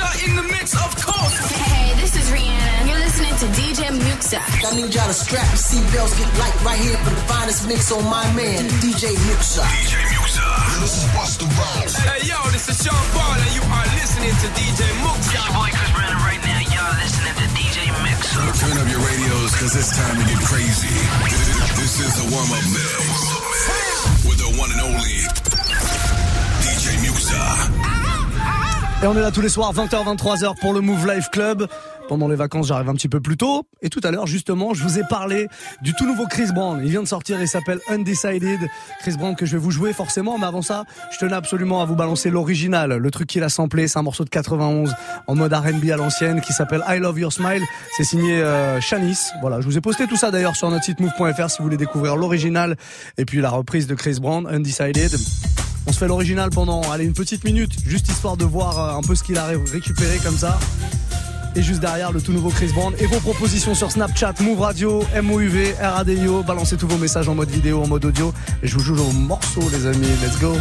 Muxa in the mix, of course. Hey, this is Rihanna. You're listening to DJ Muxa. I need y'all to strap your seatbelts, get light right here for the finest mix on my man, DJ Muxa. DJ Muxa. This is Busta Rhymes. Hey, yo, this is Sean Paul, and you are listening to DJ Muxa. This boy Chris Brandon right now. Y'all listening to DJ Muxa. Turn up your radios, because it's time to get crazy. This is the warm-up mix with the one and only DJ Muxa. Et on est là tous les soirs, 20h, 23h pour le Move Life Club. Pendant les vacances, j'arrive un petit peu plus tôt. Et tout à l'heure, justement, je vous ai parlé du tout nouveau Chris Brown. Il vient de sortir, il s'appelle Undecided. Chris Brown que je vais vous jouer forcément. Mais avant ça, je tenais absolument à vous balancer l'original. Le truc qu'il a samplé, c'est un morceau de 91 en mode R&B à l'ancienne qui s'appelle I Love Your Smile. C'est signé Shanice. Voilà, je vous ai posté tout ça d'ailleurs sur notre site move.fr si vous voulez découvrir l'original. Et puis la reprise de Chris Brown, Undecided. On se fait l'original pendant, une petite minute, juste histoire de voir un peu ce qu'il a récupéré comme ça. Et juste derrière, le tout nouveau Chris Brown. Et vos propositions sur Snapchat, Move Radio, MOUV, RADIO. Balancez tous vos messages en mode vidéo, en mode audio. Et je vous joue au morceau, les amis. Let's go.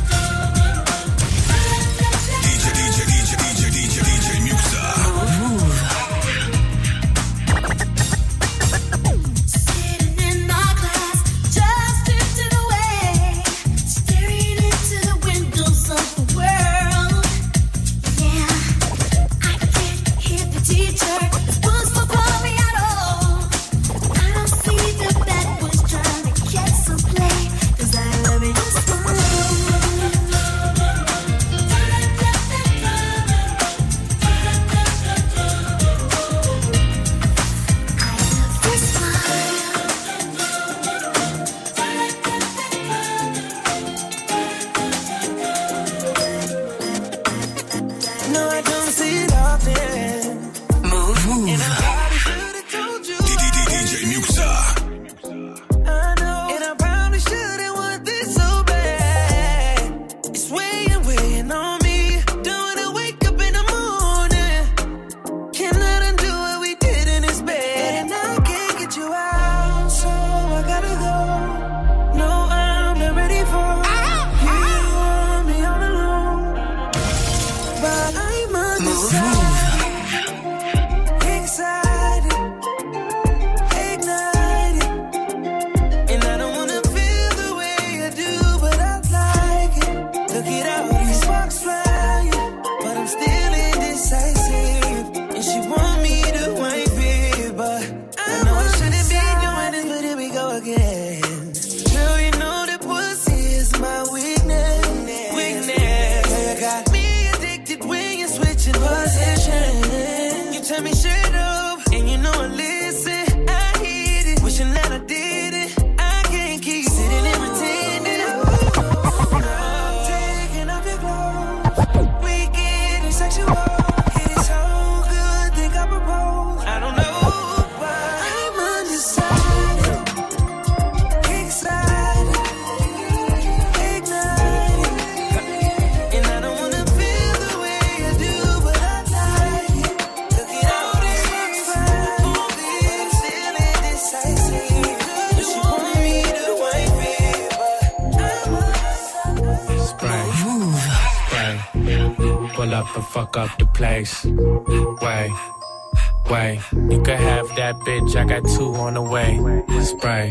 Wait, you could have that bitch, I got two on the way. Spray,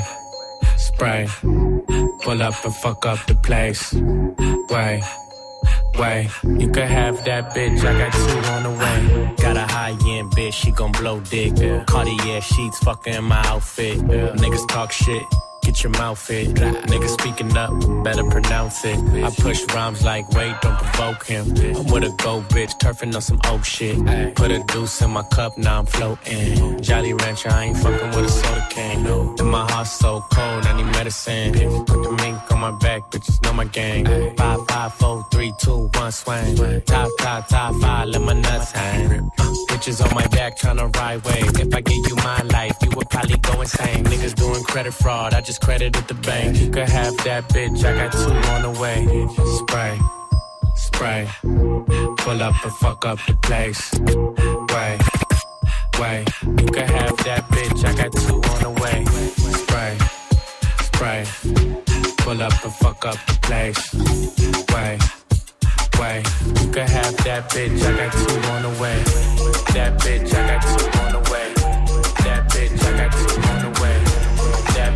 pull up and fuck up the place. Wait, you could have that bitch, I got two on the way. Got a high-end bitch, she gon' blow dick. Cartier sheets fucking in my outfit. Niggas talk shit. Get your mouth fit. Niggas speaking up, better pronounce it. I push rhymes like wait, don't provoke him. I'm with a gold bitch, turfing on some oak shit. Put a deuce in my cup, now I'm floating. Jolly Rancher, I ain't fucking with a soda can. And my heart's so cold, I need medicine. Put the mink on my back, bitches know my gang. 5, 5, 4, 3, 2, 1, swing. Top 5, let my nuts hang. Bitches on my back tryna ride wave. If I give you my life, you would probably go insane. Niggas doing credit fraud, I just credit at the bank. You could have that bitch, I got two on the way. Spray, pull up and fuck up the place. Wait, you could have that bitch, I got two on the way. Spray, pull up and fuck up the place. way. You can have that bitch, I got two on the way. That bitch, I got two on the way. That bitch, I got two on the way. That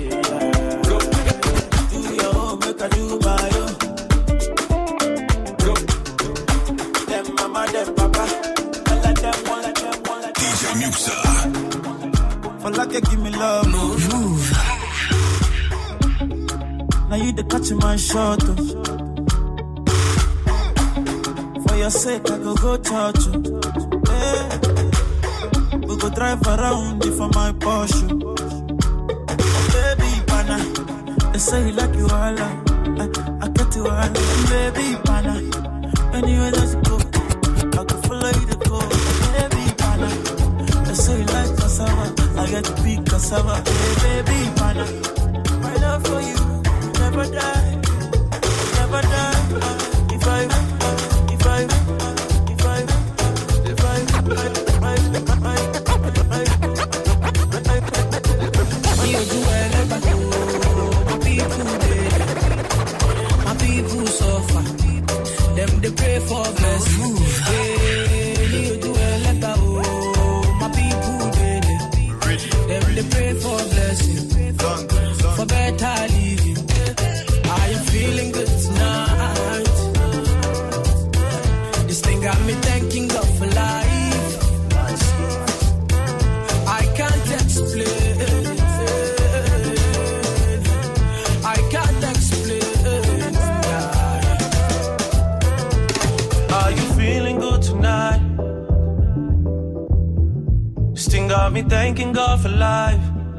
Go. For like you give me love. Move. Now you the catch my shot. For your sake, I go touch you. Hey. We go drive around for my Porsche. Baby, pana, they say you like you all. I get you all. Baby, pana, anywhere that you go, I can follow you to go. Baby, pana, they say you like cassava. I get to be cassava. Hey, baby, pana, my love for you never die, never die. If I you do whatever my people did, my people suffer, them they pray for blessing. Hey, you do whatever my people did, them they pray for blessing, for better living. I am feeling good tonight. This thing got me thanking God for life. I can't explain. I can't explain. Are you feeling good tonight? This thing got me thanking God for life.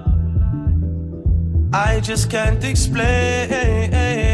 I just can't explain.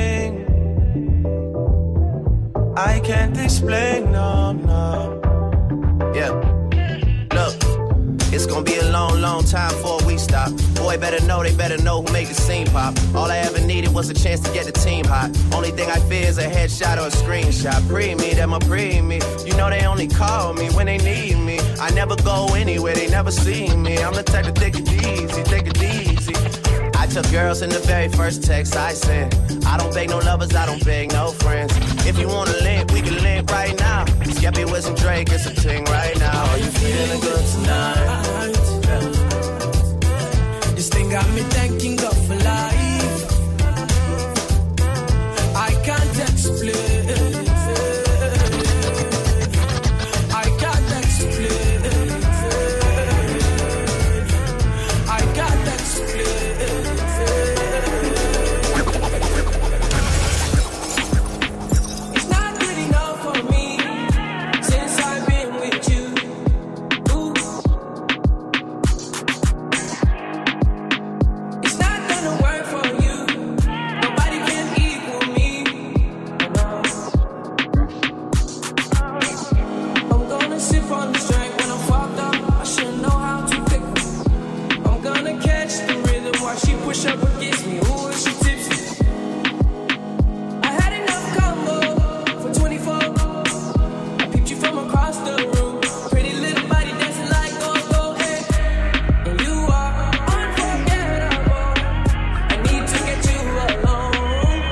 I can't explain, no. Yeah. Look, it's gonna be a long, long time before we stop. Boy, they better know who made the scene pop. All I ever needed was a chance to get the team hot. Only thing I fear is a headshot or a screenshot. Pre-me, them a pre-me. You know they only call me when they need me. I never go anywhere, they never see me. I'm the type to take it easy, take it easy. I took girls in the very first text I sent. I don't beg no lovers, I don't beg no friends. If you wanna link, we can link right now. Skeppy with some Drake, it's a ting right now. Are you feeling good tonight? This thing got me thanking God for life. I can't explain. I can't explain. I can't explain. It's not good enough for me since I've been with you. Ooh. It's not gonna work for you. Nobody can equal me. I'm gonna sip on the strength when I'm fucked up. I should know how to pick her. I'm gonna catch the rhythm while she push up against me. Ooh, is she tipsy? I had enough combo for 24. I peeped you from across the room. Pretty little body dancing like go, hey. And you are unforgettable. I need to get you alone.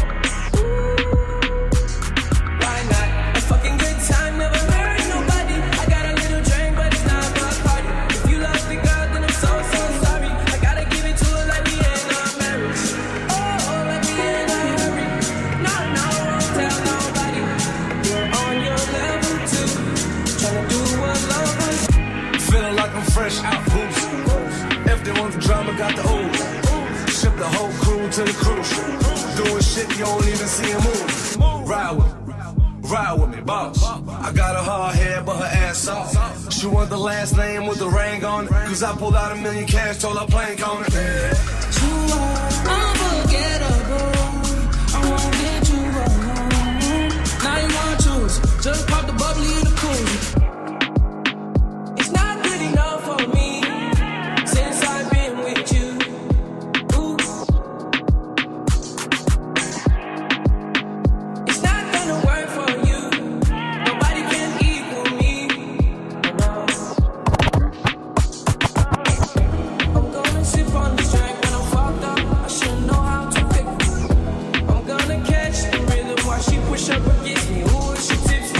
Why not? A fucking good time never hurt nobody. I got a little drink, but it's not my party. If you love the girl, then I'm so sorry. I gotta give it to her like we ain't not married. Oh, like we ain't not hurry. No, won't tell nobody. You're on your level too. Tryna do what lovers. Feeling like I'm fresh out boost. If they want the drama, got the ooze. Ship the whole crew to the cruise. Doing shit you don't even see him move. Ride with me, boss. I got a hard head, but her ass soft. She want the last name with the ring on it. Cause I pulled out $1 million cash, told her plank on it. You are unforgettable. I won't get you alone. Now you wanna choose. Just pop the bubbly in the cool. It's not good enough for me since I've been with you. Ooh. It's not gonna work for you. Nobody can equal me. I'm gonna sip on the strength when I'm fucked up. I should know how to pick her. I'm gonna catch the rhythm while she push up against me. Ooh, is she tipsy?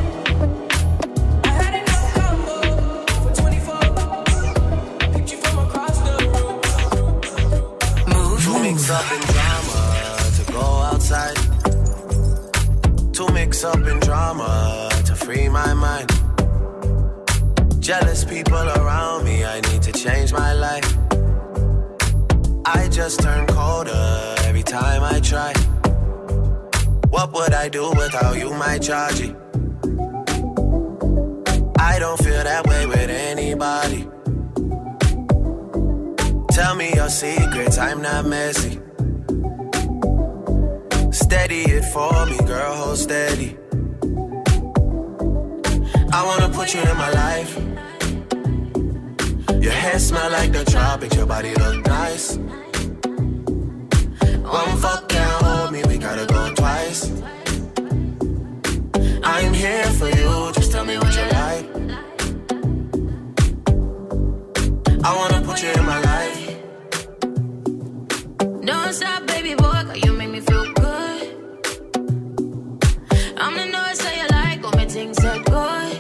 I had enough combo for 24. I picked you from across the room. To mix up in drama, to go outside. To mix up in drama, to free my mind. Jealous people around me, I need to change my life. I just turn colder every time I try. What would I do without you, my Georgie? I don't feel that way with anybody. Tell me your secrets, I'm not messy. Steady it for me, girl, hold steady. I wanna put you in my life. Your hair smell like the tropics, your body look nice. One fuck can't hold me, we gotta go twice. I'm here for you, just tell me what you like. I wanna put you in my life. Don't stop, baby boy, cause you make me feel good. I'm the noise that you like, all my things are good.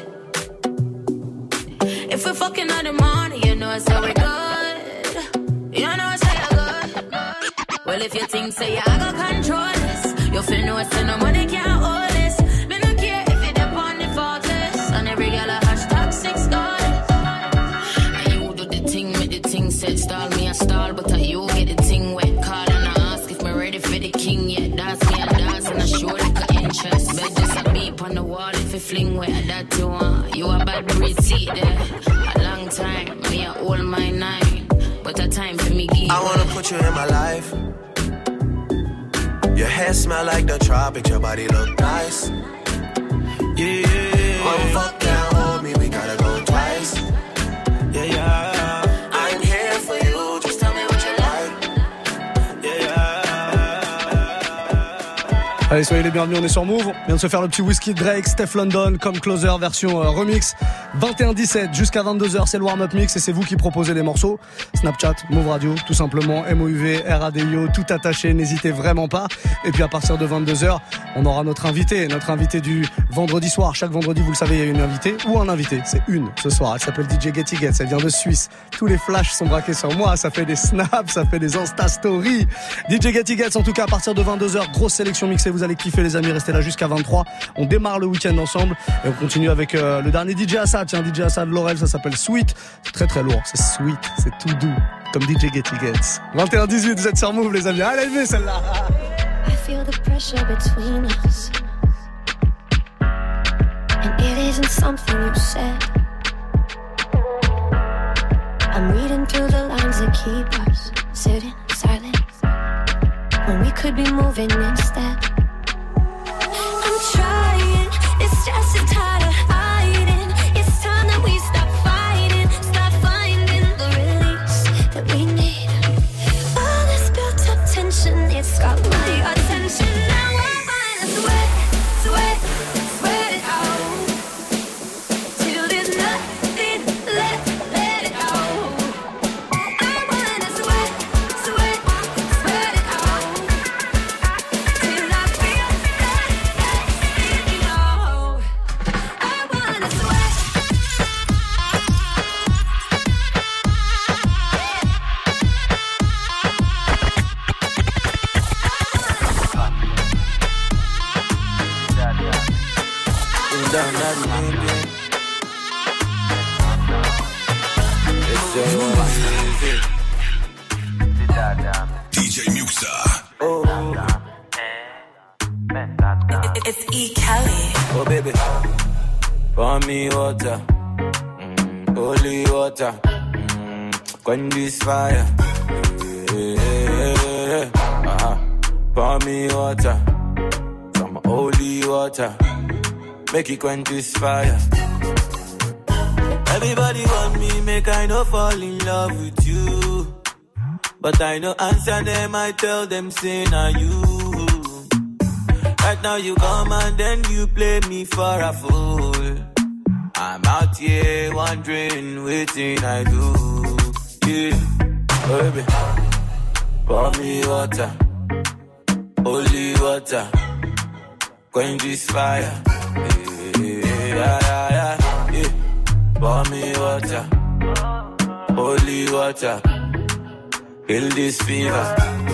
If we're fucking out the morning, you know it's how we good. You know it's how you good. Well, if you think say I got control this, you feel no it's no money can't hold this. Me no care if you dip on the fortress. And every girl a hashtag 6 goddess. And you do the thing, make the thing set. Stall me a stall, but you get the thing wet. Call and I ask if me ready for the king yet. Dance me and dance and I show like an interest. But just a beep on the wall if you fling wet. That you want, you a bad breed seat there. A long time, me a hold my 9. But a time for me give. I wanna put you in my life. Your hair smell like the tropics, your body look nice. Yeah. One fuck can't hold me, we gotta go twice. Yeah, yeah. I'm here for you, just tell me what you like. Yeah, yeah. Allez, soyez les bienvenus, on est sur Move. On vient de se faire le petit whisky de Drake, Steph London, comme closer version remix. 21-17 jusqu'à 22h, c'est le warm-up mix et c'est vous qui proposez les morceaux. Snapchat, Move Radio, tout simplement, MOUV, RADIO, tout attaché, n'hésitez vraiment pas. Et puis à partir de 22h, on aura notre invité du vendredi soir. Chaque vendredi, vous le savez, il y a une invitée ou un invité. C'est une ce soir. Elle s'appelle DJ Getty Gets. Elle vient de Suisse. Tous les flashs sont braqués sur moi. Ça fait des snaps, ça fait des Insta Stories. DJ Getty Gets, en tout cas, à partir de 22h, grosse sélection mixée. Vous allez kiffer, les amis. Restez là jusqu'à 23. On démarre le week-end ensemble et on continue avec le dernier DJ Assad. Tiens, DJ Assad Laurel, ça s'appelle Sweet. C'est très très lourd. C'est sweet. C'est tout doux. Comme DJ Getty Gets. 21-18, vous êtes sur Move, les amis. Allez, levez celle-là. I feel the pressure between us, and it isn't something you said. I'm reading through the lines that keep us sitting silent when we could be moving instead. I'm trying, it's just so tired of hiding. It's time that we stop fighting, stop finding the release that we need. All this built up tension, it's got my attention. Now I wanna sweat, sweat, sweat it out till there's nothing left, let it out. I wanna sweat, sweat, sweat it out till I feel that feeling out. I wanna sweat. DJ Muxa. It's E. Kelly. Oh baby, pour me water, holy water, quench this fire. Pour me water, some holy water, make it quench this fire. Everybody want me, make I no fall in love with you, but I no answer them, I tell them say na you. Right now you come and then you play me for a fool. I'm out here wondering, waiting I do. Yeah, baby, pour me water, holy water, quench this fire. Yeah. Pour me water, holy water, kill this fever.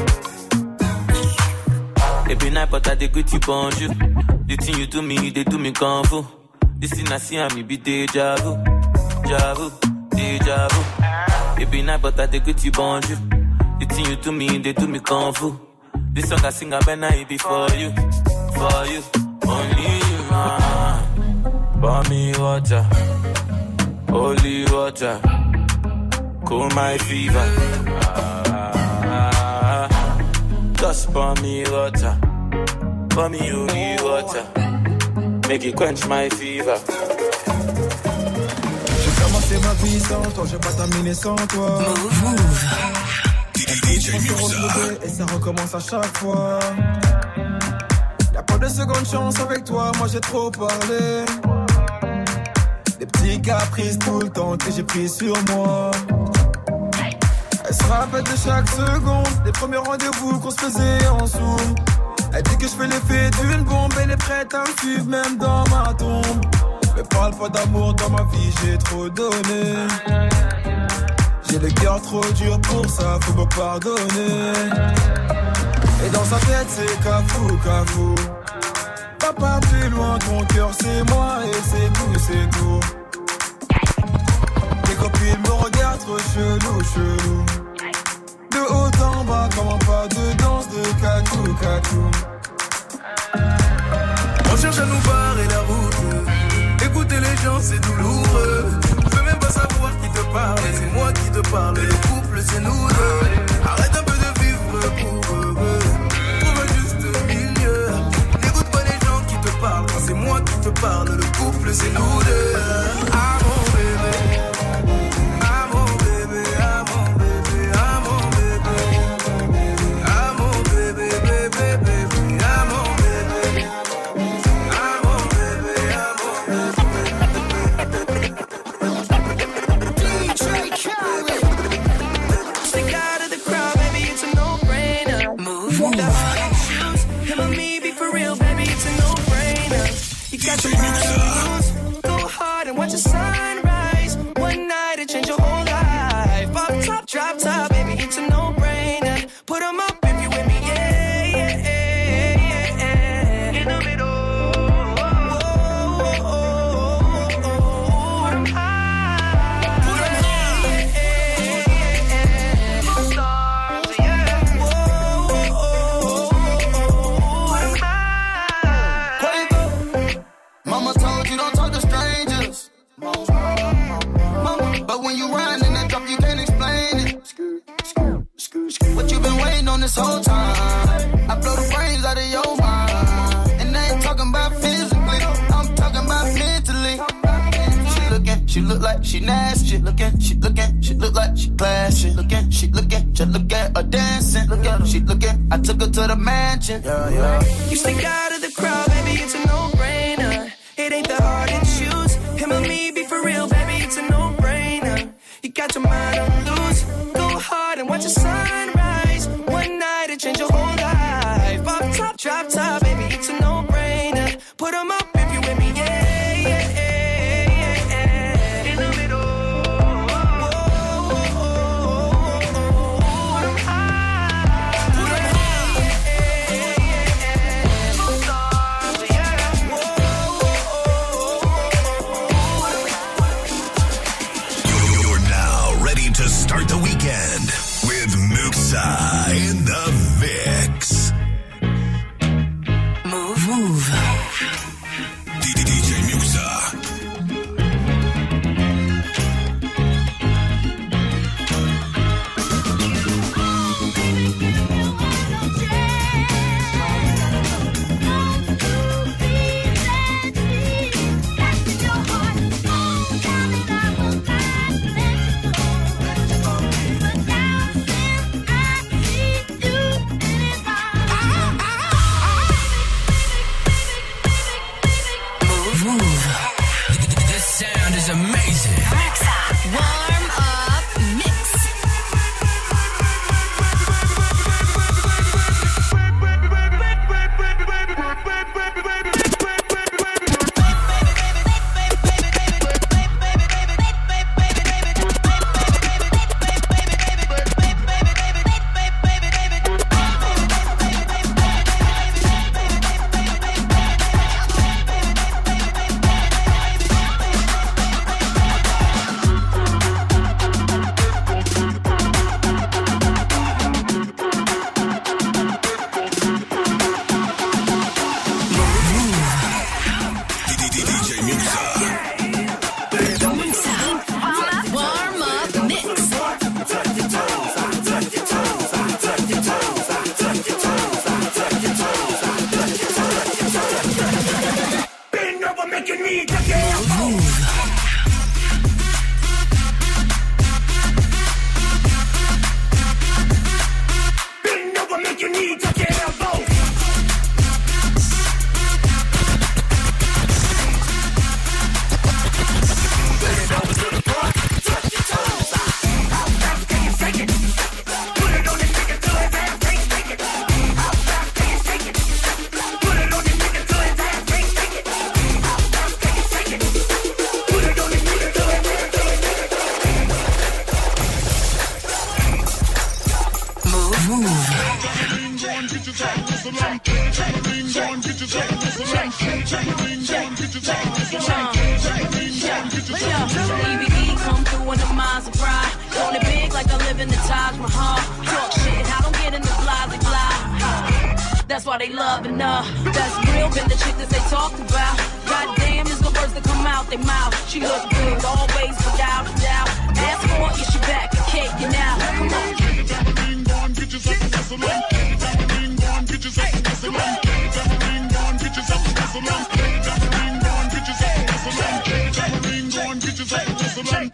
Every night, but I dey greet you bonjour. The thing you do me, they do me kung fu. This thing I see, me be deja vu, deja vu. Every night, but I dey greet you bonjour. The thing you do me, they do me kung fu. This song I sing, I better it be for you, only you. Pour me water, holy water, cool my fever. Just pour me water, pour me holy water, make it quench my fever. J'ai commencé ma vie sans toi, j'ai pas terminé sans toi. DJ Muxa. Et ça recommence à chaque fois. Y'a pas de seconde chance avec toi, moi j'ai trop parlé. Des petits caprices tout le temps que j'ai pris sur moi. Elle se rappelle de chaque seconde, des premiers rendez-vous qu'on se faisait en zoom. Elle dit que je fais l'effet d'une bombe, elle est prête à me suivre même dans ma tombe. Mais parle pas d'amour dans ma vie, j'ai trop donné. J'ai le cœur trop dur pour ça, faut me pardonner. Et dans sa tête c'est cafou, cafou. Papa plus loin, ton cœur c'est moi et c'est tout. Tes copines me regardent trop chelou. De haut en bas, comment pas de danse de catou. On cherche à nous barrer la route. Écouter les gens c'est douloureux. Je veux même pas savoir qui te parle. C'est moi qui te parle, le couple c'est nous deux. Arrête un peu de vivre pour eux. Trouve un juste milieu. N'écoute pas les gens qui te parlent. Quand c'est moi qui te parle, le couple c'est nous deux. Ah mon bébé, ah mon bébé, ah mon bébé, ah mon bébé, ah mon bébé, bébé, bébé, ah mon bébé, ah mon bébé, ah mon bébé. DJ Khaled. Stick out of the crowd, baby, it's a no-brainer. Move. The hard shoes, him and me be for real, baby, it's a no-brainer. You got your mind on loose, go hard and watch the sunrise. One night it change your whole life. Up top, drop top, baby, it's a no-brainer. Put 'em up if you with me, yeah. In the middle. Put 'em high. Put 'em high. Stars, yeah. Put 'em high. Quavo. Mama told you don't talk to strangers. Mama, but when you run in that drop, you can't explain it. What you been waiting on this whole time? I blow the brains out of your mind. And I ain't talking about physically, I'm talking about mentally. She look like she nasty. She look like she classy. She looking, just look at her dancing. She looking, I took her to the mansion. Yeah. You stick out of the crowd, baby, it's a no-brainer. It ain't the hard to choose. Him and me be for real, baby, it's a no-brainer. You got your mind on loose. Go hard and watch the sunrise. One night it change your whole life. Up top, drop top, baby, it's a no-brainer. Put 'em up if you with me, yeah. In the middle. Put 'em high. Put 'em high. Stars, yeah. You're now ready to start the weekend with Muxa in the mix. Move. DJ Muxa. EBE come through in the minds of pride. Doing it big like I live in the Taj Mahal. Talk shit, I don't get in the blase blah. That's why they loving her. That's real, been the chick that they talked about. Goddamn is the words that come out their mouth. She look good, always without a doubt. Ask for it, yeah, she back, cake you now. Come on. Get yourself a whistle on. Get yourself a whistle on. Get yourself a whistle on. Get yourself a whistle on. Get yourself a whistle on.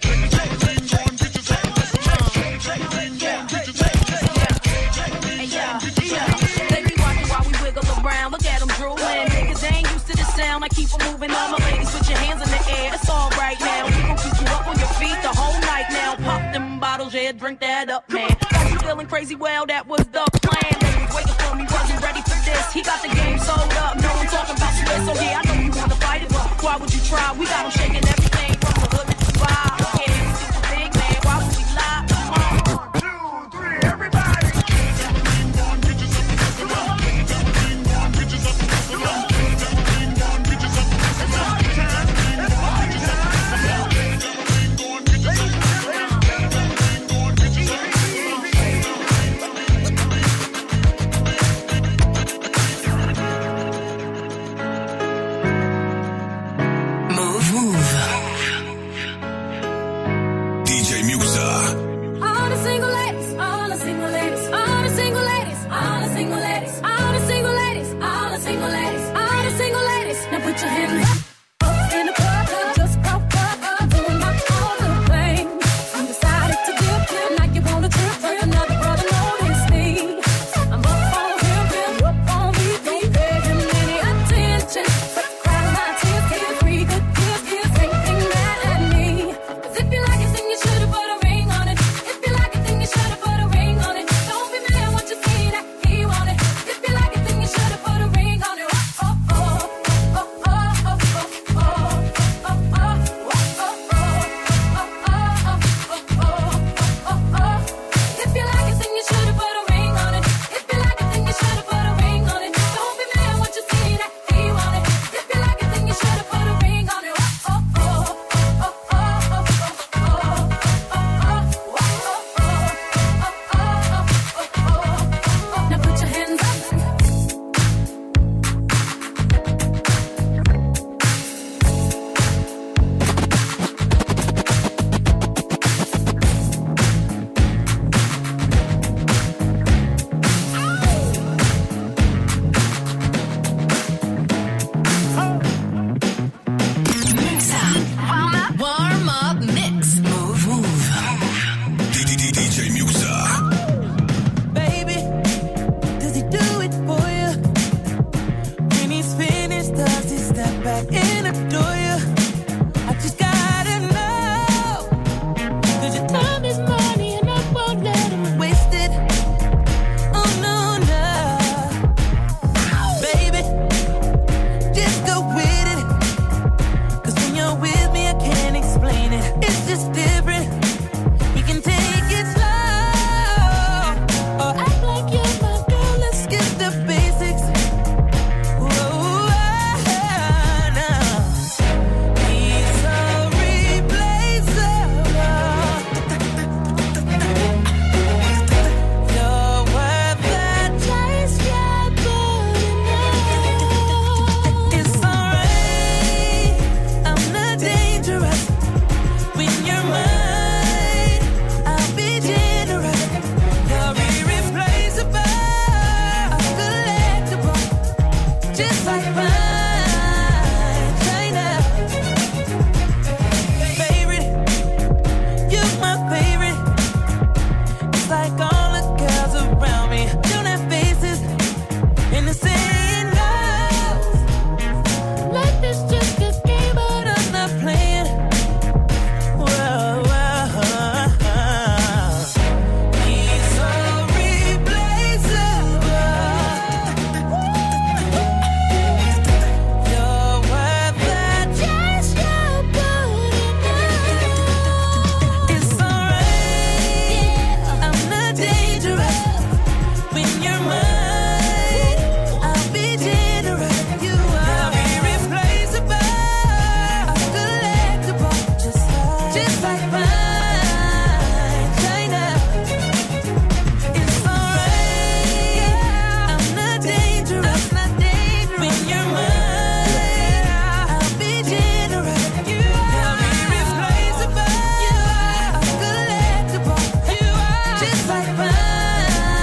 They be watching while we wiggle around. Look at them drooling. Niggas ain't used to the sound. I keep them moving. All my ladies, put your hands in the air. It's all right now. We gon' keep you up on your feet the whole night now. Pop them bottles, yeah, drink that up, man. Got you feeling crazy? Well, that was the plan. They was waiting for me, wasn't ready for this. He got the game sold up. No one talking about Swiss. So yeah, I know you wanna fight it, but why would you try? We got them shaking everything from the hood to the vibe. Yeah, we see the big man. Why would we lie? 1, 2, 3, everybody.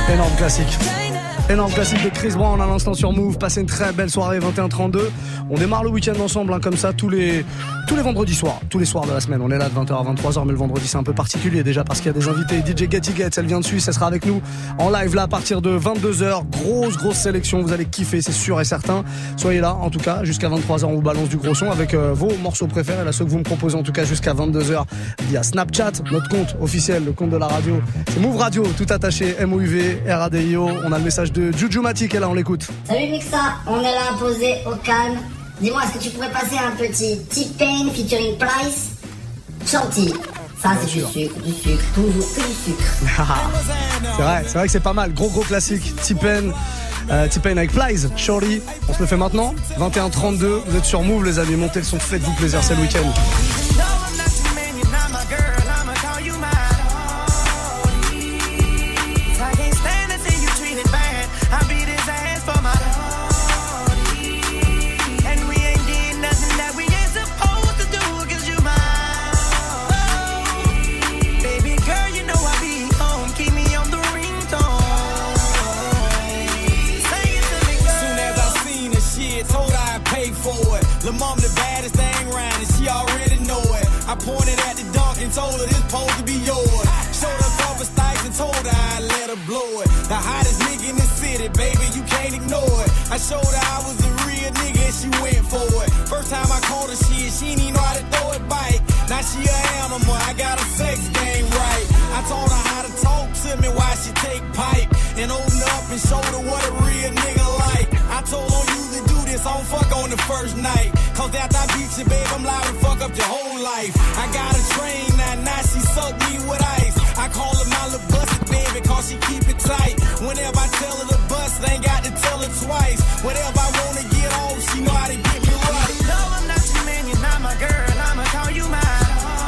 Énorme classique. Énorme classique de Chris Brown à l'instant sur Move. Passez une très belle soirée 21-32. On démarre le week-end ensemble, hein, comme ça, tous les vendredis soirs. Tous les soirs de la semaine. On est là de 20h à 23h, mais le vendredi c'est un peu particulier déjà parce qu'il y a des invités. DJ Getty Gets, elle vient de Suisse, elle sera avec nous en live là à partir de 22h. Grosse sélection, vous allez kiffer, c'est sûr et certain. Soyez là en tout cas, jusqu'à 23h on vous balance du gros son avec vos morceaux préférés, là ceux que vous me proposez en tout cas jusqu'à 22h via Snapchat, notre compte officiel, le compte de la radio. C'est Move Radio, tout attaché, MOUV, RADIO. On a le message de Juju Mati qui est là, on l'écoute. Salut Mixa, on est là posé au calme. Dis-moi, est-ce que tu pourrais passer un petit T-Pain featuring Price? Chantilly. Ça, c'est du sucre, toujours que du sucre. c'est vrai que c'est pas mal. Gros classique. T-Pain avec Flies, Shorty. On se le fait maintenant. 21-32. Vous êtes sur Move, les amis. Montez le son, faites-vous plaisir, c'est le week-end. The mom the baddest thing around and she already know it. I pointed at the dunk and told her this supposed to be yours. Showed her cover stipes and told her I'd let her blow it. The hottest nigga in the city, baby, you can't ignore it. I showed her I was a real nigga and she went for it. First time I called her shit, she didn't even know how to throw it back. Now she an animal, I got a sex game right. I taught her how to talk to me while she take pipe. And open up and showed her what a real nigga like. I told her you to do this, I don't fuck on the first night. Cause after I beat you, babe, I'm liable to fuck up your whole life. I got a train now she suck me with ice. I call her my little busted baby, cause she keep it tight. Whenever I tell her to bust, I ain't got to tell her twice. Whatever I wanna get on, she know how to get me right. No, I'm not your man, you're not my girl, I'ma call you mine.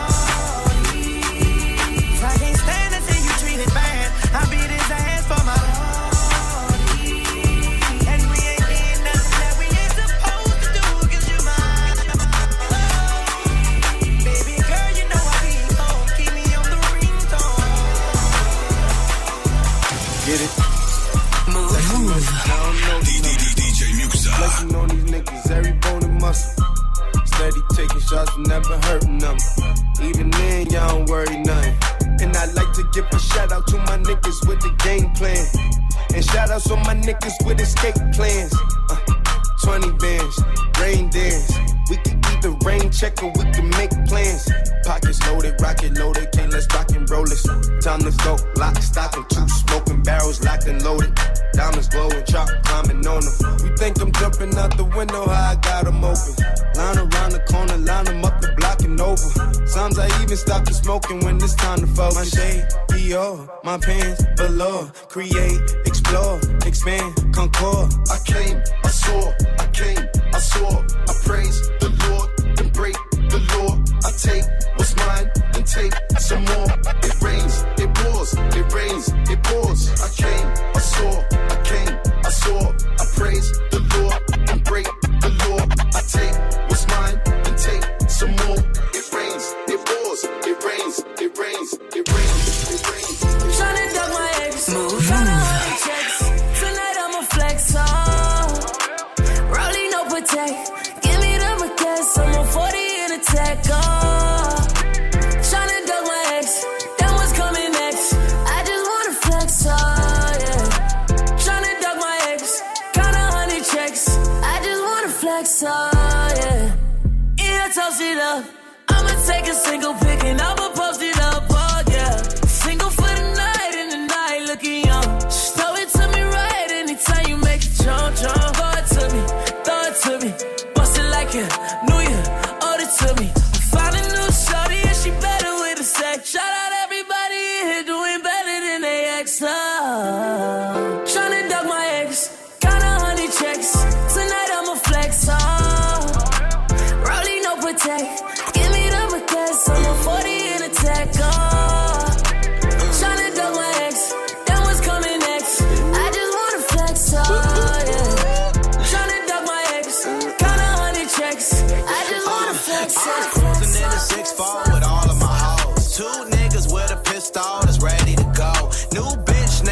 I can't stand to see you treated bad, I beat his ass for my DJ Muxa. Flexing on these niggas, every bone and muscle. Steady taking shots, never hurting them. Even then, y'all don't worry nothing. And I like to give a shout out to my niggas with the game plan. And shout outs on my niggas with escape plans. 20 bands, rain dance. We can either rain check or we can make plans. Pockets loaded, rocket loaded, can't let's rock and roll this. Time to go, lock, stock, and two smoking barrels locked and loaded. Diamonds glowing, chop climbing on them. You think I'm jumping out the window, how I got them open. Line around the corner, line them up the block and over. Sometimes I even stop the smoking when it's time to focus. My shade, Dior, my pants, velour. Create, explore, expand, concord. I came, I saw, I came, I saw. I praise the Lord, then break the law. I take what's mine, then take some more. It rains, it pours, it rains, it pours. I came, I saw, I came, I saw. I praise the Lord, then break the law. I take what's mine, then take some more. It rains, it pours, it rains, it rains, it rains, it rains. I'm tryna duck my ex, tryna hold checks. Tonight I'ma flex on. Rolling no protect. Give me the baguettes, I'm on 40 in a tech. Tryna duck my ex, then what's coming next? I just wanna flex on, yeah. Tryna duck my ex, count 100 checks. I just wanna flex on, yeah. Yeah, toast it up. I'ma take a single pic and I'ma post it up, oh yeah. Single for the night and the night looking young. Just throw it to me right anytime you make it jump. Throw it to me, throw it to me. Bust it like a New Year, owed it to me. I found a new shorty and she better with the sex. Shout out everybody in here doing better than they ex. Tryna duck my ex, count 100 checks. Tonight I'ma flex on. Rolling no protect. Give me the baguettes, I'm on 40 in a tech. Tryna duck my ex, then what's coming next? I just wanna flex on, yeah. Tryna duck my ex, count 100 checks. I just wanna flex on. I was cruising in the 6'4" with all of my hoes. Two niggas with a pistol that's ready to go. New bitch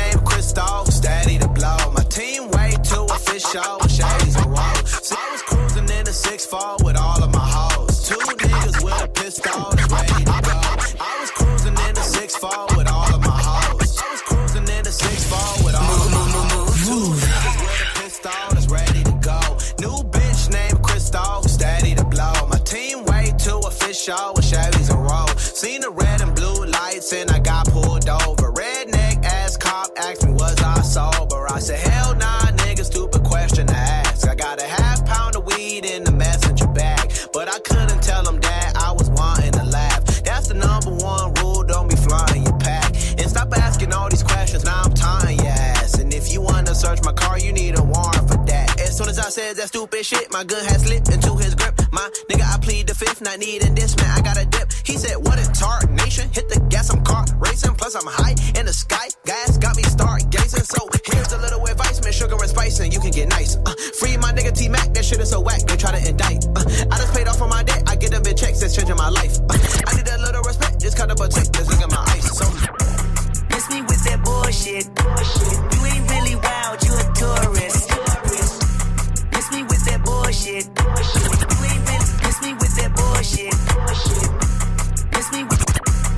says that stupid shit. My gun has slipped into his grip. My nigga, I plead the fifth, not needing this, man. I got a dip. He said, what a tart nation. Hit the gas, I'm car racing. Plus, I'm high in the sky. Gas got me stargazing. So here's a little advice, man. Sugar and spice, and you can get nice. Free my nigga T-Mac, that shit is so whack. They try to indict. I just paid off on my debt. I get them big checks, that's changing my life. I need a little respect, just cut up a tick. Just look at my ice. So miss me with that bullshit. You ain't really wild, you a tourist. Miss me with that bullshit. You ain't really miss me with that bullshit. Miss me with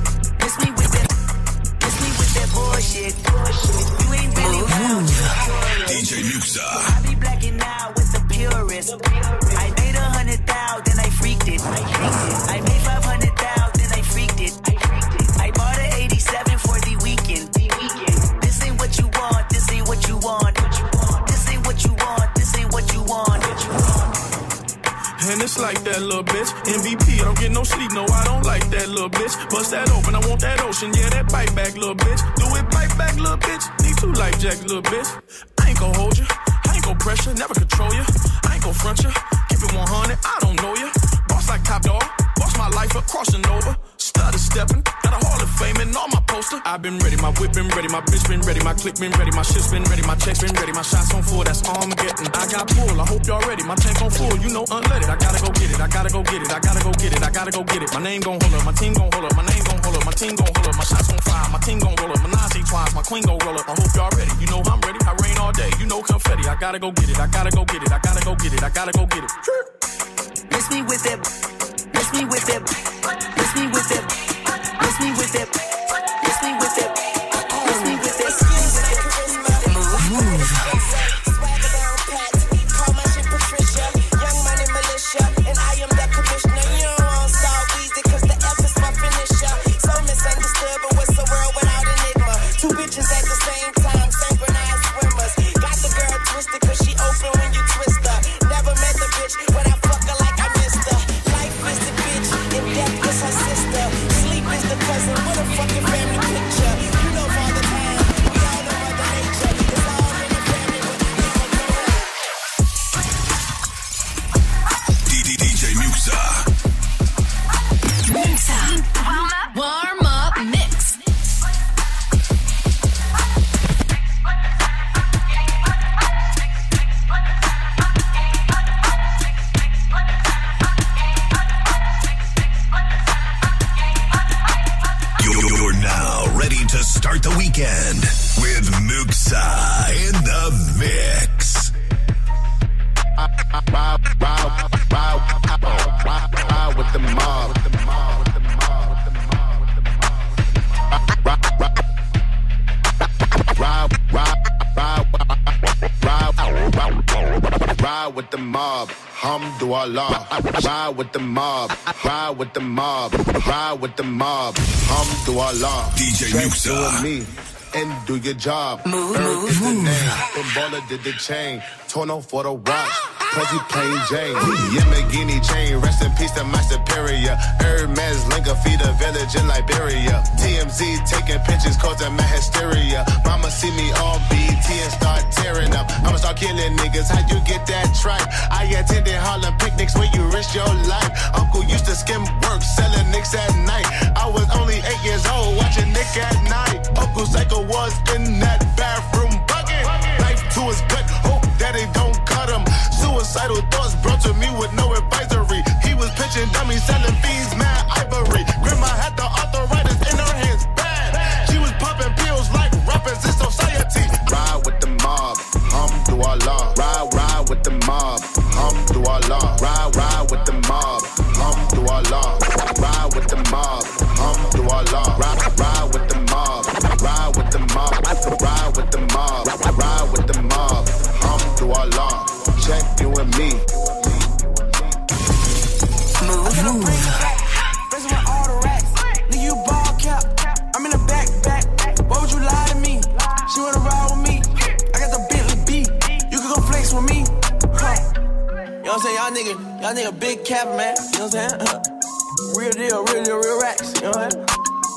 that bullshit. You ain't really wild, you a tourist. DJ Muxa. I be blacking out with the purist. I made 100,000, then I freaked it. I made 500,000, then I freaked it. I bought an 87 for the weekend. This ain't what you want, this ain't what you want. This ain't what you want, this ain't what you want. And it's like that little bitch. MVP, I don't get no sleep, no, I don't like that little bitch. Bust that open, I want that ocean, yeah, that bite back, little bitch. Do it, bite back, little bitch. Need two life jacks, little bitch. I ain't gon' hold you, I ain't gon' pressure, never control you. I ain't gon' front you, keep it 100, I don't know you. Boss like Top Dog, boss my life up, crossing over. Stutter stepping, got a Hall of Fame and all my poster. I've been ready, my whip been ready, my bitch been ready, my click been ready, my shit's been ready, my checks been ready, my shots on full, that's all I'm getting. I got pull, I hope y'all ready, my tank on full, you know unleaded. I gotta go get it, I gotta go get it, I gotta go get it, I gotta go get it. My name gon' hold up, my team gon' hold up, my name gon' hold up, my team gon' hold up, my shots on fire, my team gon' roll up, my Nazi twice, my queen gon' roll up. I hope y'all ready, you know I'm ready, I rain all day, you know confetti. I gotta go get it, I gotta go get it, I gotta go get it, I gotta go get it. Miss me with that, miss me with that, miss me with that. Miss me with that, miss me with that, miss me with that. Move. Swagger down pat, call my shit Patricia, young money militia, and I am the commissioner. You don't want South Easy, cause the F is my finisher. So misunderstood, but what's the world without enigma? Two bitches at the same time, synchronized swimmers. Got the girl twisted, cause she open when you twist her. Never met the bitch, but I fuck her like I missed her. Life is the bitch, and death is her sister. Is the cousin with a fucking family picture. You know Father Time, we all know Mother Nature. It's all in the family, but I DJ Muxa. Warm up mix. You're now ready to start the weekend with Muxa in the mix. Ride with the mob. Ride with the mob. Hamdulillah. Ride with the mob. Ride with the mob. Ride with the mob. Hamdulillah. DJ Muxa. Me and do your job. Move. The name. Baller did the chain. Torno for the watch. Cause he plain Jane. Yamagini chain. Rest in peace to my superior. Hermes Linga feed a village in Liberia. TMZ taking pictures causing my hysteria. Mama see me on BT and start tearing up. I'ma start killing niggas. How you get that tripe? I attended Harlem picnics where you risk your life. Uncle used to skim work selling nicks at night. I was only 8 years old watching Nick at night. Uncle Psycho was in that bathroom bucket. Knife to his gut. Hope that it don't cut him. Suicidal thoughts brought to me with no advisory. He was pitching dummies, selling fiends, mad ivory. Grandma had the arthritis in her hands, bad. She was popping pills like rappers in society. Ride with the mob, Hamdulillah. Ride with the mob, Hamdulillah. Ride with the mob, Hamdulillah. Ride with the mob, Hamdulillah. Ride with the mob, ride with the mob, ride with the mob, ride with the mob, Hamdulillah. Check you and me. Move. Rest with all the racks. Nigga, you ball cap. I'm in the back. Why would you lie to me? She wanna ride with me. I got the Bentley B. You can go flex with me. Huh. You know what I'm saying? Y'all nigga big cap, man. You know what I'm saying? Real deal, real racks. You know what I'm saying?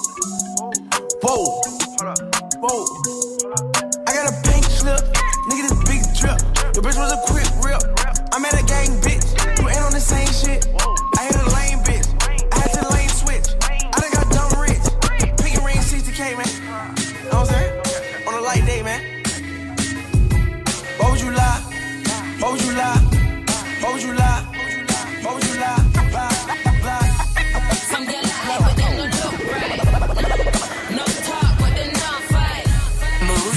Whoa. I got a pink slip. Nigga, this big drip. Your bitch was a quick rip. day, man. What would you lie? What would you lie? What would you lie? What would you lie? Some get lie, but they no joke, right? No talk, but they no fight. Move.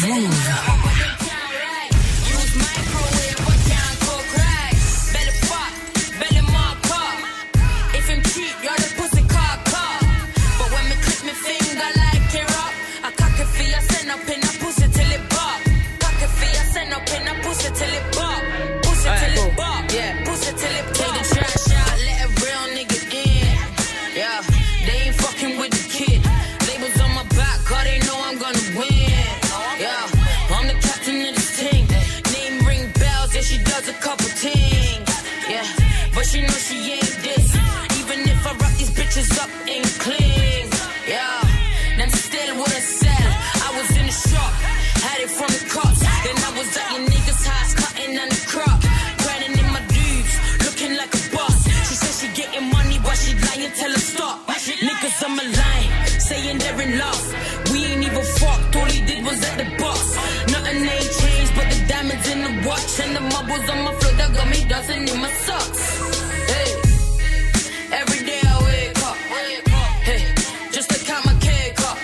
Use microwave, but can't cook right. Better fuck, better mark up. If him cheat, you're the pussy cock. But when me click me finger like it up, I cock it for you, send up in a pussy till it bop. Cock it for you, send up in a pussy till it bop. Pussy till it bop, yeah. Pussy till it bop. Take the trash out, let a real nigga in. Yeah, they ain't fucking with the kid. Labels on my back, cause they know I'm gonna win. Yeah, I'm the captain of this team. Name ring bells, yeah, she does a couple things. Yeah, but she knows she ain't this. Even if I rock these bitches up and clean. Yeah, them still wouldn't sell. I was in the shop, had it from the cops. Then I was at your niggas' house, cutting on the crop. Grinding in my dudes, looking like a boss. She said she getting money, but she lying, tell her stop. Niggas on my line, saying they're in love. We ain't even fucked, all he did was at the box. Nothing ain't changed, but the diamonds in the watch. And the marbles on my floor that got me dancing in my socks. Hey, every day I wake up, hey, just to count my cake up.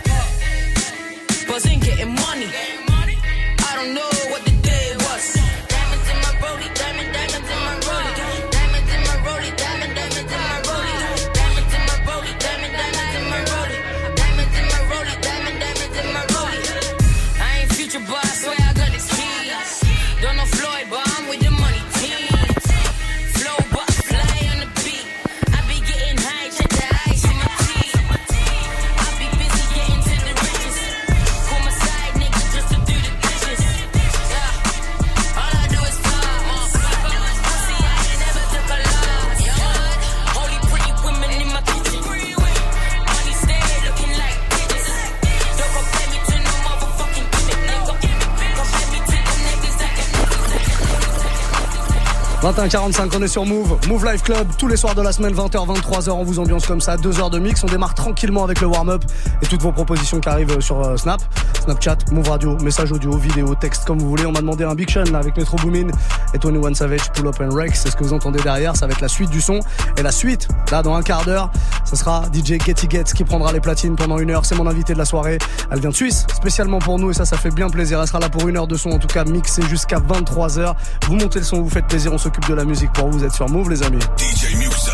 Buzzing, getting money, I don't know what the day was. Diamonds in my rollie, diamonds in my rollie. Diamonds in my rollie, diamonds in my rollie. Diamonds in my rollie, diamonds in my rollie. Diamonds in my rollie, diamonds in my rollie. I ain't future, but I swear I got this keys. Don't know Floyd, but I'm with the money team. Flow, but I fly on the beat. I be getting high, check the ice in my teeth. I be busy getting to the riches. Call my side nigga just to do the dishes. Yeah, all I do is fly, motherfucker. Pussy, I ain't never took a loss. Yeah, only pretty women in my kitchen. Money stay looking like bitches. Don't compare me to no motherfucking gimmick, nigga. Compare me to them niggas that can 21h45, on est sur Move, Move Live Club, tous les soirs de la semaine, 20h, 23h, on vous ambiance comme ça, 2 heures de mix, on démarre tranquillement avec le warm-up et toutes vos propositions qui arrivent sur Snapchat, Move Radio, message audio, vidéo, texte, comme vous voulez. On m'a demandé un Big Sean là, avec Metro Boomin et 21 Savage, Pull Up and Rex, c'est ce que vous entendez derrière, ça va être la suite du son. Et la suite, là dans un quart d'heure, ce sera DJ Getty Gets qui prendra les platines pendant 1 heure, c'est mon invité de la soirée, elle vient de Suisse, spécialement pour nous et ça fait bien plaisir, elle sera là pour 1 heure de son, en tout cas mixé jusqu'à 23h, vous montez le son, vous faites plaisir, on s'occupe de la musique pour vous, êtes sur Move les amis. DJ Muxa.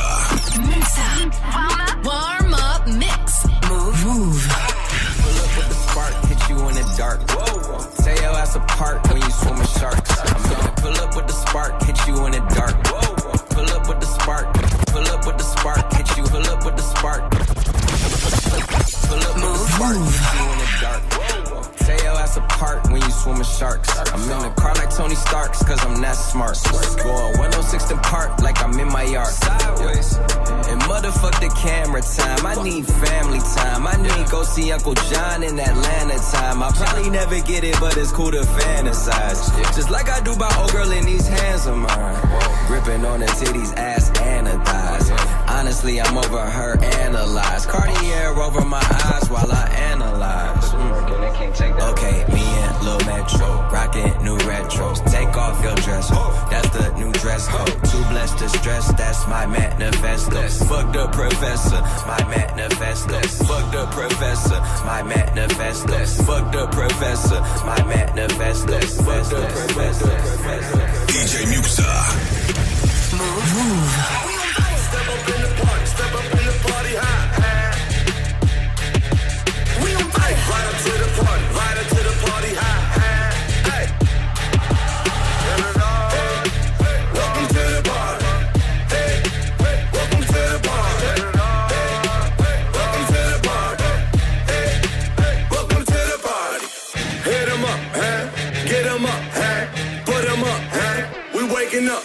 warm up mix. Move. Pull up with the spark, hit you in the dark. Tear your ass apart when you swim with sharks. I'm gonna pull up with the spark, hit you in the dark. Pull up with the spark, pull up with the spark, hit you. Pull up with the spark. Pull up with the spark, hit you in the dark. Tear your ass apart when you swim with sharks. I'm in the car like Tony Stark's, cause I'm that smart. Going 106th and Park like I'm in my yard. Sideways. And motherfuck the camera time. I need family time. I need go see Uncle John in Atlanta time. I probably never get it, but it's cool to fantasize. Just like I do by old girl in these hands of mine. Gripping on the titties, ass and the thighs. Honestly, I'm over her analyze. Cartier over my eyes while I analyze. Okay, me and Lil Metro, rockin' new retros. Take off your dress, that's the new dress code. Too blessed to stress, that's my manifesto. Fuck the professor, my manifesto. Fuck the professor, my manifesto. Fuck the professor, my manifesto. Fuck the professor. DJ Muxa. Move. Step up in the party, step up in the party high. We on fire. Right up to the party, right up to the party high. Hey. Welcome to the party. Hey. Welcome to the party. Welcome to the party. Hey. Welcome to the party. Hit 'em up, huh? Get 'em up, huh? Put 'em up, huh? We waking up.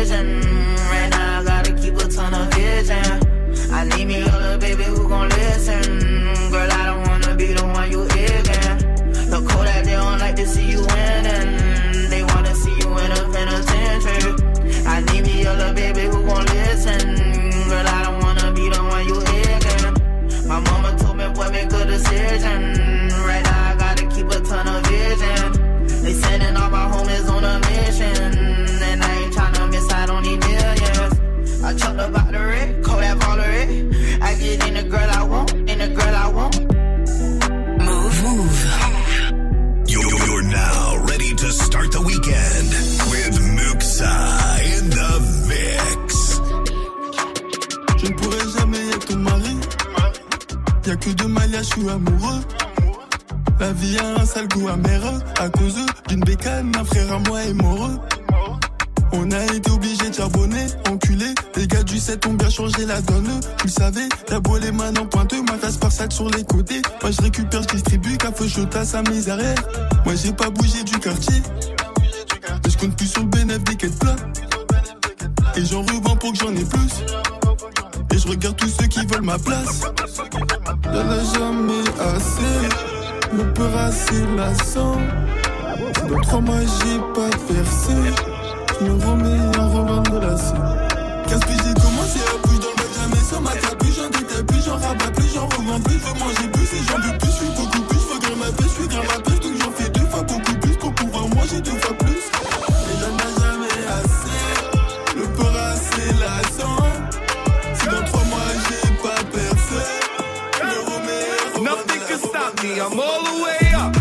decision. Right now I gotta keep a ton of vision. I need me a little baby who gon' listen. Girl, I don't wanna be the one you ignorant. The code that they don't like to see you winning. They wanna see you in a penitentiary. I need me a little baby who gon' listen. Girl, I don't wanna be the one you ignorant. My mama told me, boy, make a decision. Right now I gotta keep a ton of vision. They sending all my homies on a mission. And I ain't tryna miss out on these millions. I chucked up out the red, call that Valerie. I get in the girl I want, in the girl I want. Move. You're now ready to start the weekend with Muxa in the mix. Je ne pourrai jamais être ton mari. Y'a que de Malia, je suis amoureux. La vie a un sale goût amer. À cause d'une bécane, un frère à moi est mort. On a été obligé de charbonner, enculé. Les gars du 7 ont bien changé la donne. Tu le savais, la boule est maintenant pointeux. Ma tasse par sac sur les côtés. Moi je récupère, je distribue, car faut que je tasse à mes arrières. Moi j'ai pas bougé du quartier. Mais je compte plus sur le bénéfice des quêtes plats. Et j'en revends pour que j'en ai plus. Et je regarde tous ceux qui veulent ma place. Y'en a jamais assez. Le peur assez lassant. Dans 3 mois j'ai pas percé. Je me remets à revendre de la scène. Casse-pied, j'ai commencé à bouger dans le bac, jamais sans ma capuche. J'en détaille plus, j'en rabats plus, j'en revends plus. Je veux manger plus et j'en veux plus, je suis beaucoup plus. Je veux grimper ma pêche, je suis grimper ma pêche. Donc j'en fais 2 fois beaucoup plus pour pouvoir manger 2 fois plus. Et j'en ai jamais assez. Le peur assez lassant. Si dans 3 mois j'ai pas percé, je me remets à revendre de la scène. Nothing can stop me, I'm all the way up.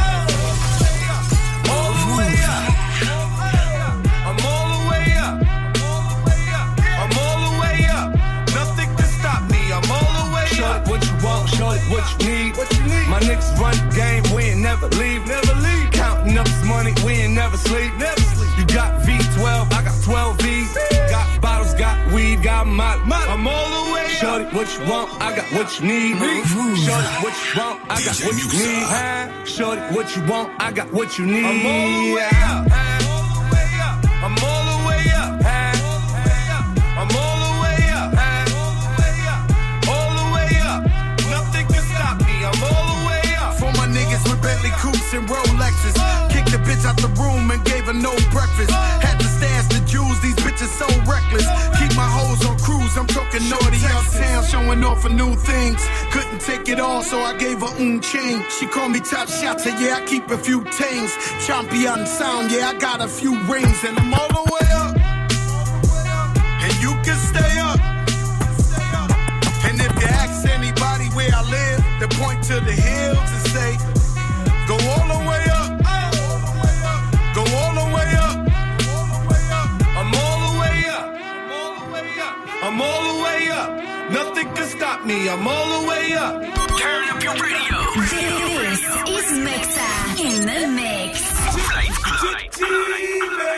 What you need? My niggas run the game, we ain't never leave. Counting up this money, we ain't never sleep. You got V12, I got 12 V's. Got bottles, got weed, got my. I'm all the way up. Shorty, what you want? I got what you need. Shorty, what you want? I got what you need. Shorty, what you want? I got what you need. I'm all the way up. I'm all the way up. I'm all the way up. All the way up. Nothing can stop me. I'm all the way up. For my niggas with Bentley coupes and Rolexes. Kicked the bitch out the room and gave her no breakfast. Had to stash the jewels, these bitches so reckless. Keep my hoes on cruise, I'm talking naughty uptown, showing off for new things. Couldn't take it all, so I gave her chain. She called me top shotter, yeah, I keep a few tings. Champion sound, yeah, I got a few rings. And I'm all the way up. And you can stay up. And if you ask anybody where I live, they point to the hills and say, go all the way up. Go all the way up. I'm all the way up. I'm all the way up. Nothing can stop me. I'm all the way up. Turn up your radio. This is Muxa in the mix. Life Club.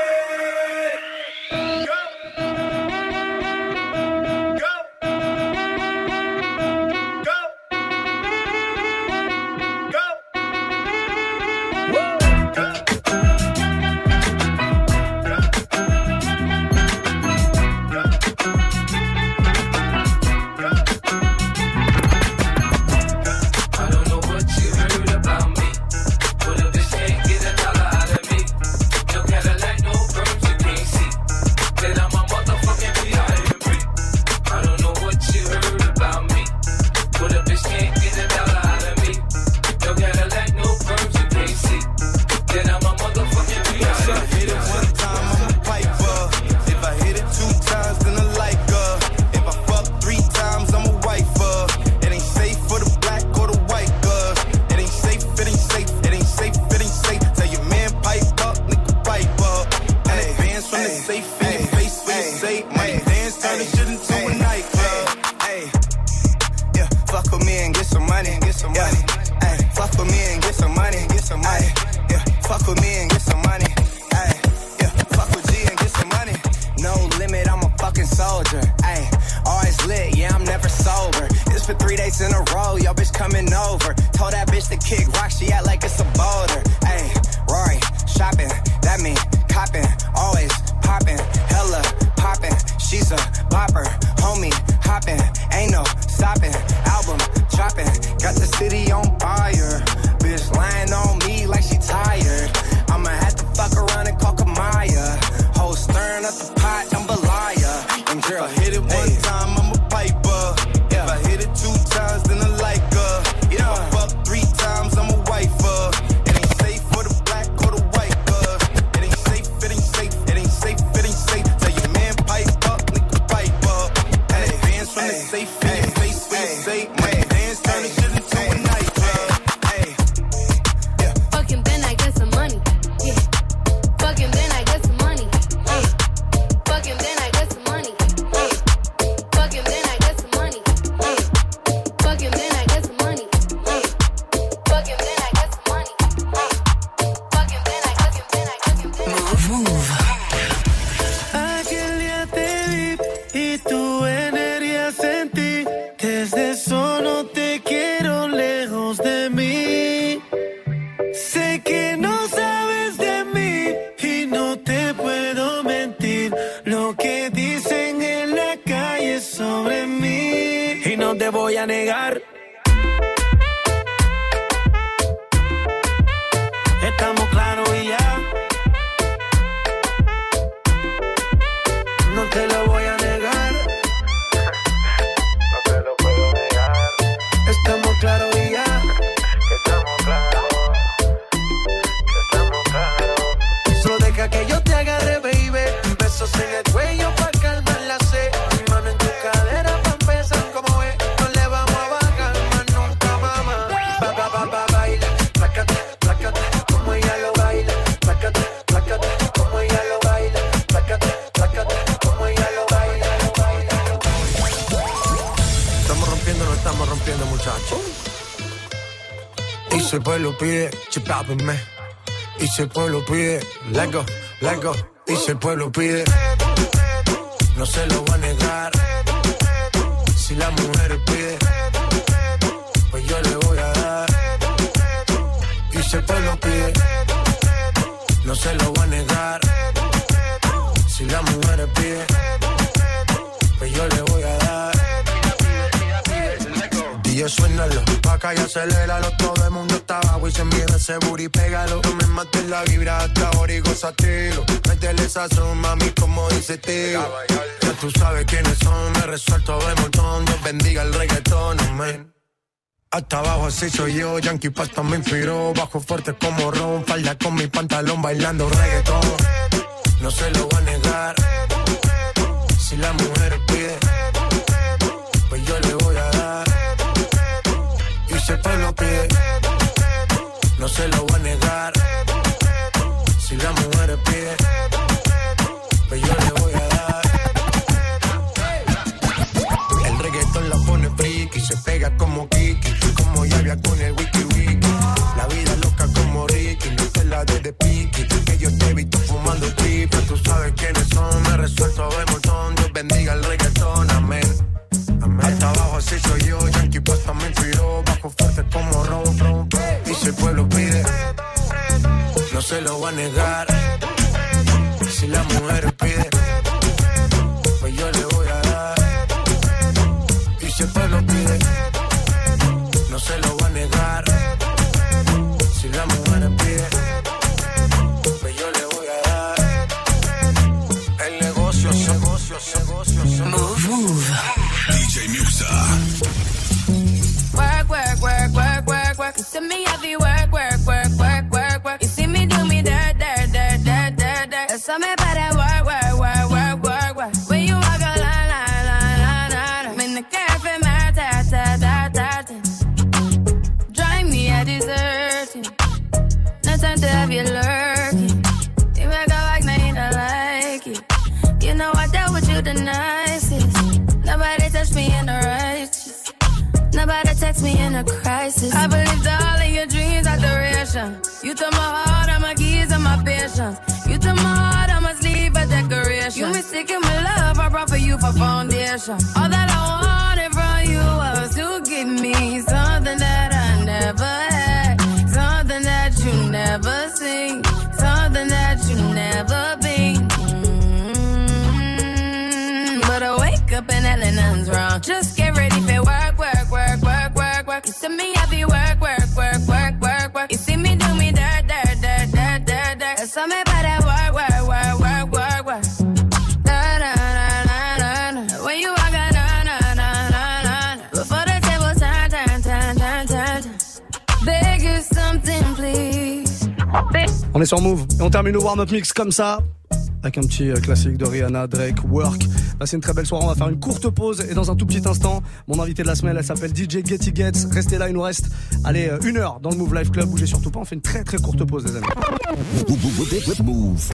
for 3 days in a row, yo bitch coming over. Told that bitch to kick rock, she act like it's a boulder. Ayy, Rory, shopping, that mean copping, always popping, hella bopper, homie, hopping, ain't no stopping. Album dropping, got the city on fire. Bitch lying on me like she tired. I'ma have to fuck around and call Kamaya. Whole stirring up the pot, I'm Belaya. And girl, if I hit it one time, I'm a piper. If I hit it 2 times, then I like her. If I fuck 3 times, I'm a wifer. It ain't safe for the black or the white, it ain't safe, it ain't safe, it ain't safe, it ain't safe. Tell your man pipe up, nigga pipe up. And advance from the safe in your face when you say, my dance turn the shit into a nightclub. Fuck him, then I get some money. Yeah. Fuck him, then I get some money. Yeah. Fuck him, then I get some money. Yeah. Fuck him, then I get some money. Yeah. Fuck him, then I get some money. Yeah. Fuck him, then I get some money. Yeah. Fuck him, then I get him, then I get him, then I get him. Move. Aquel día te vi y tu energía sentí. Desde eso no te quiero lejos de mí. Sé que no sabes de mí y no te puedo mentir. Lo que dicen en la calle sobre mí y no te voy a negar. Estamos claros y ya. No te lo voy a negar. No te lo puedo negar. Estamos claros y ya. Estamos claros. Estamos claros. Solo deja que yo te agarre, baby. Besos en el cuello pa' calmar la sed. Mi mano en tu cadera pa' empezar como es. No le vamos a bajar más nunca, mamá. Baila. Plácate, plácate, como ella lo baila. Plácate, plácate, como ella lo baila. Plácate, plácate, como ella lo baila. Estamos rompiendo, no estamos rompiendo, muchachos. Y si el pueblo pide, chipápenme. Y si el pueblo pide, let go. Y si el pueblo pide, no se lo voy a negar. Si la mujer pide, pues yo le voy a dar. Y si el pueblo pide, no se lo voy a negar. Si la mujer pide, pues yo le voy a dar. Y suénalo, pa' acá y aceléralo. Todo el mundo está abajo y se envidia ese booty, pégalo. No me mates la vibra hasta ahora y gózatelo. Métele sazón, mami, como dice tío. Ya tú sabes quiénes son, me resuelto de montón. Dios bendiga el reggaetón, amén. Hasta abajo así soy yo, Yankee Pasta me inspiró. Bajo fuerte como Ron, falda con mi pantalón bailando reggaetón. No se lo voy a negar. Si la mujer pide, pues yo le voy a dar. Y si el pueblo pide, no se lo voy a negar. Si la mujer pide, pues yo le voy a dar. El reggaetón la pone friki, se pega como Kiki, como Yavia con el wiki wiki. La vida loca como Ricky, no te la de piqui. Que yo te he visto fumando tripa, tú sabes quiénes son, me resuelto de montón. Dios bendiga el reggaetón, amén. Hasta abajo así soy yo, Yankee Pasta me inspiró. Bajo fuerte como Ron. Y si el pueblo pide, no se lo voy a negar. Si la mujer pide, pues yo le voy a dar. Y si el pueblo pide, no se lo voy a negar. Si la mujer pide, pues yo le voy a dar. El negocio. Move. DJ Muxa. Work. You see me heavy work. You see me do me dirt. That's how me better work. When you walk a line. I'm in the cafe, drive me a dessert. No time to have you lurking. You make a like, now you don't like it. You know I dealt with you the nicest. Nobody touched me in the righteous. Nobody text me in a crisis. I believed all of your dreams are duration. You took my heart, all my keys, and my patience. You took my heart, I must leave a decoration. You mistaken my love, I brought for you for foundation. All that I wanted from you was to give me something that I never had, something that you never seen, something that you never been. But I wake telling nothing's wrong. Just get ready for work, work, work, work, work, work. You see me happy work, work, work, work, work, work. You see me do me dirt, dirt, dirt, dirt, dirt, dirt. There's something about that work, work, work, work, work, work. Da, da, da, da, da, da. When you walk out, da, da, da, da, da, da. Before the table turn, turn, turn, turn, turn, turn. Beg you something, please. On est sur Move et on termine le warm-up mix comme ça avec un petit classique de Rihanna, Drake, Work. Passez une très belle soirée, on va faire une courte pause et dans un tout petit instant, mon invité de la semaine, elle s'appelle DJ Getty Gets. Restez là, il nous reste, allez, 1 heure dans le Move Life Club. Bougez surtout pas, on fait une très très courte pause les amis. Move.